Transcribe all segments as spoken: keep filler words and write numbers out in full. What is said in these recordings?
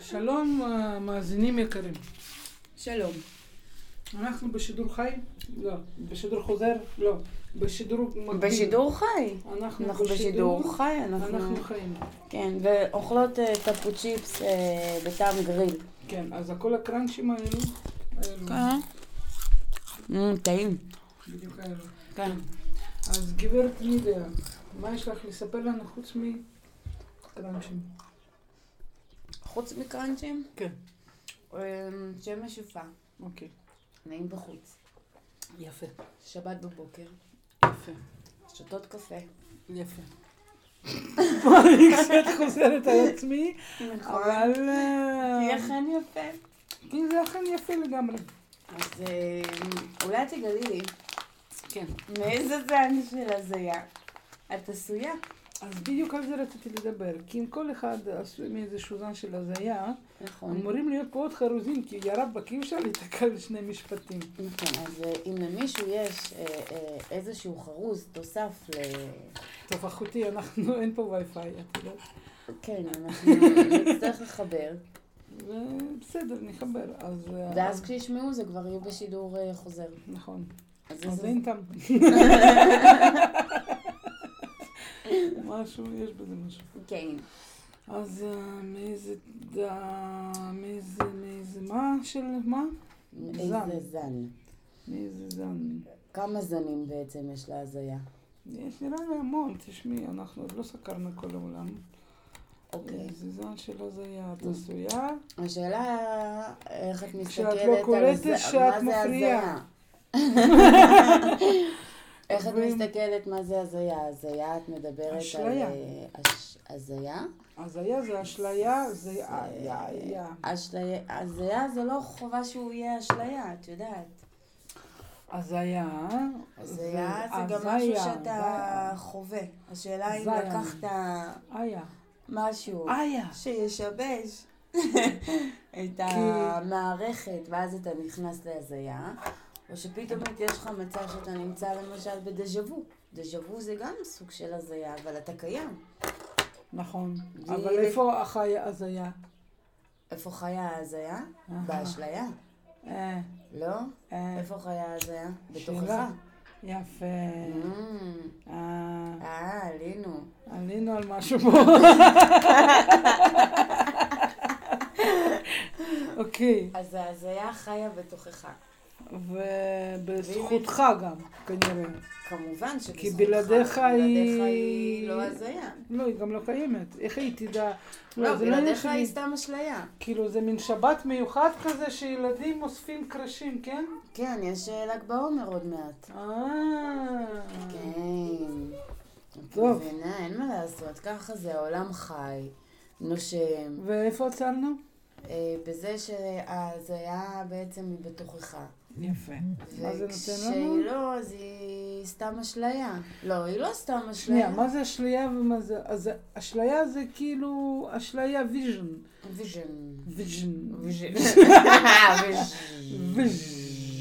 שלום מאזינים יקרים. שלום. אנחנו בשידור חי? לא. בשידור חוזר? לא. בשידור מקביל. בשידור חי. אנחנו, אנחנו בשידור חי. אנחנו, אנחנו חיים. כן, ואוכלות uh, טפו צ'יפס uh, בטעם גריל. כן, אז הכל הקראנצ'ים האלו. כן. Mm, טעים. בדיוק האלו. כן. אז גברת לידיה, מה יש לך לספר לנו חוץ מקראנצ'ים? חוץ מקראנצ'ים? כן. שמש יפה. אוקיי. נעים בחוץ. יפה. שבת בבוקר. יפה. שתות קפה. יפה. אני קצת חוזרת על עצמי, אבל... כי אכן יפה. כי זה אכן יפה לגמרי. אז אולי תגלי לי. כן. מאיזה זן של הזיה את עשויה? אז בדיוק על זה רציתי לדבר, כי אם כל אחד עשוי מאיזשהו זן של הזיה, נכון. אמורים להיות פה עוד חרוזים, כי ירב בקי אפשר להתקל לשני משפטים. נכון, אז אם למישהו יש איזשהו חרוז תוסף ל... טוב, אחותי, אנחנו, אין פה וי-פיי, את יודעת. כן, אנחנו נצטרך לחבר. בסדר, נחבר. ואז כשישמעו זה כבר יהיו בשידור חוזר. נכון. אז אין טעם. משהו, יש בזה משהו. כן. אז מאיזה, מאיזה, מאיזה, מה של, מה? איזה זן. מאיזה זן. כמה זנים בעצם יש להזיה? יש נראה לי המון, תשמעי, אנחנו עוד לא סקרנו כל העולם. אוקיי. איזה זן של הזיה, את עשויה. השאלה, איך את מסתכלת כשאת לא קולטת שאת מפריעה. איך את מסתכלת מה זה הזיה? הזיה, את מדברת על... אשליה. הזיה? הזיה זה אשליה, זה... אשליה. הזיה זה לא חובה שהוא יהיה אשליה, את יודעת. הזיה... הזיה זה גם משהו שאתה חווה. השאלה אם לקחת משהו שישבש את המערכת, ואז אתה נכנס להזיה. או שפתאום יש לך מצב שאתה נמצא למשל בדז'וו. דז'וו זה גם סוג של הזיה, אבל אתה קיים. נכון. אבל איפה חיה הזיה? איפה חיה הזיה? באשליה. לא? איפה חיה הזיה? בתוכך. יפה. אה, עלינו. עלינו על משהו פה. אוקיי. אז ההזיה חיה בתוכך. ובזכותך גם, כנראה. כמובן שבזכותך. כי בלעדיך היא... היא לא הזיה. לא, היא גם לא קיימת. איך היא תדע? לא, בלעדיך היא סתם אשליה. כאילו זה מין שבת מיוחד כזה שילדים אוספים קרשים, כן? כן, יש ל"ג בעומר עוד מעט. אה. כן. טוב. אין מה לעשות, ככה זה, העולם חי, נושם. ואיפה עצרנו? בזה שההזיה בעצם היא בתוכך. יפה. מה זה נותן לנו? וכשהיא לא, אז היא סתם אשליה. לא, היא לא סתם אשליה. שנייה, מה זה אשליה ומה זה? אז אשליה זה כאילו אשליה ויז'ן. ויז'ן. ויז'ן. ויז'ן. ויז'ן.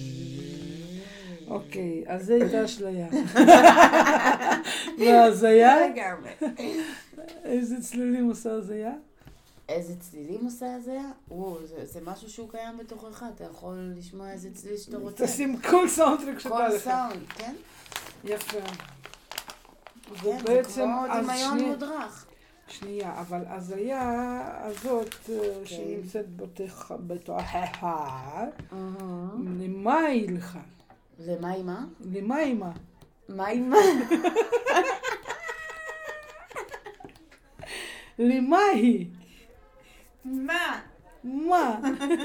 אוקיי, אז זה הייתה אשליה. והזיה? איזה צלילים עושה הזיה? איזה צלילים עושה הזיה? זה, זה משהו שהוא קיים בתוכך, אתה יכול לשמוע איזה צליל שאתה רוצה. תשים כל סאונדטרק שאתה לך. כל סאונד, כן? יפה. כן, זה כמו דמיון מודרך. שנייה, אבל הזיה הזאת שנמצאת בתוכך, למה היא לך? למה היא מה? למה היא מה? מה היא מה? למה היא? מה? מה?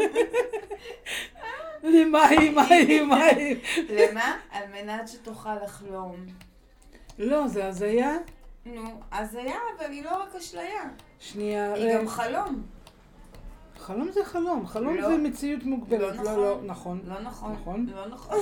למה היא, מה היא, מה היא? למה? על מנת שתוכל לחלום. לא, זה הזיה? נו, הזיה, אבל היא לא רק אשליה. שנייה. היא גם חלום. חלום זה חלום, חלום זה מציאות מוגבלת. לא לא, נכון. לא נכון. נכון. לא נכון.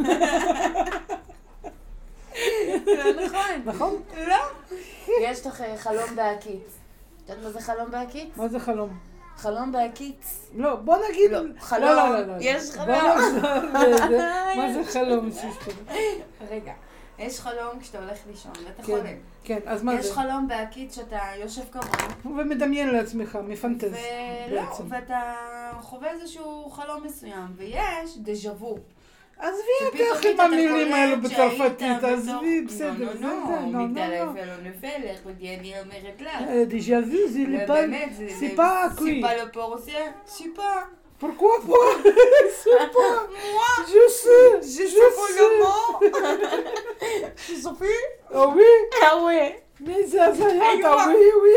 לא נכון. נכון? לא. יש לך חלום בהקיץ. את יודעת מה זה חלום בהקיץ? מה זה חלום? חלום בהקיץ. לא, בוא נגיד... לא, חלום. לא, לא, לא. יש חלום. בוא נחזור לזה. מה זה חלום? רגע. יש חלום כשאתה הולך לישון, ואתה כן, חולם. כן, אז מה יש זה? יש חלום בהקיץ שאתה יושב כמוהו. ומדמיין לעצמך, מפנטז ולא, בעצם. ואתה חווה איזשהו חלום מסוים, ויש דז'ה וו. עזבי אותך עם המילים האלו בצרפתית, עזבי, בסדר, זה זה, לא, לא, מגדל אפל לא נופל, איך אני אומרת לך. דז'ה וו, זה לפן, סיפה קוי. סיפה לא פורסיה, סיפה. Pourquoi pas? C'est pas. Moi, je sais. Je sais pas le mot. Je sais plus. Ah oui? Ah oui. Mais ça, ça y est, ah oui, oui.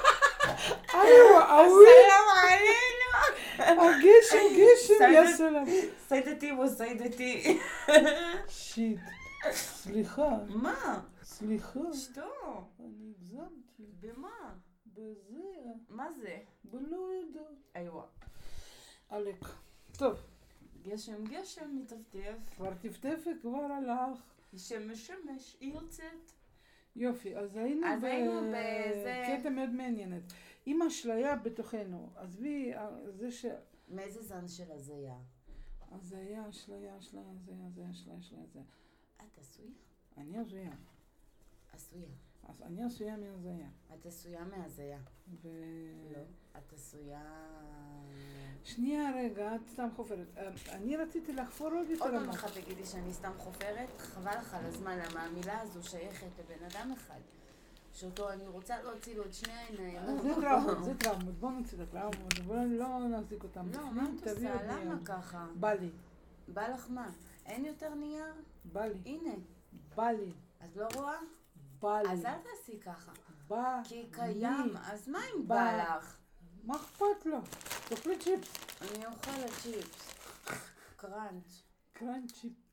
Ah oui. Salam alaikum. הגשם, גשם, יא סלאם. סיידתי וסיידתי. שיט. סליחה. מה? סליחה. שטו. אני הגזמתי. במה? בזה. מה זה? בלא יודע. איווה. עלק. טוב. גשם, גשם, מטפטף. כבר טפטפת, כבר הלך. שמש, שמש, היא יוצאת. יופי, אז היינו בקטע מאוד מעניינת. עם אשליה בתוכנו, עזבי, זה ש... מאיזה זן של הזיה? הזיה, אשליה, אשליה, הזיה, הזיה, אשליה, אשליה, הזיה. את עשויה? אני עשויה. עשויה. אז אני עשויה מהזיה. את עשויה מהזיה. ו... לא, את עשויה... שנייה רגע, את סתם חופרת. אני רציתי לחפור עוד יותר עוד עמוק. פעם אחד תגידי שאני סתם חופרת, חבל לך על הזמן, למה המילה הזו שייכת לבן אדם אחד. שאותו אני רוצה להוציא לו את שני העיניים. זה טראומות, זה טראומות. בוא נוציא את הטראומות, בוא לא נחזיק אותם. לא, מה את עושה? למה ככה? בא לי. בא לך מה? אין יותר נייר? בא לי. הנה. בא לי. את לא רואה? בא לי. אז אל תעשי ככה. בא לי. כי קיים, אז מה אם בא לך? מה אכפת לו? תאכלי צ'יפס. אני אוכלת צ'יפס. קראנץ'. קראנץ' צ'יפס.